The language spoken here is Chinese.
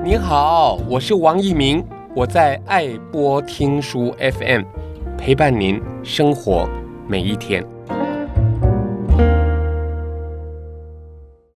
您好，我是王一鸣，我在爱播听书 FM 陪伴您生活每一天。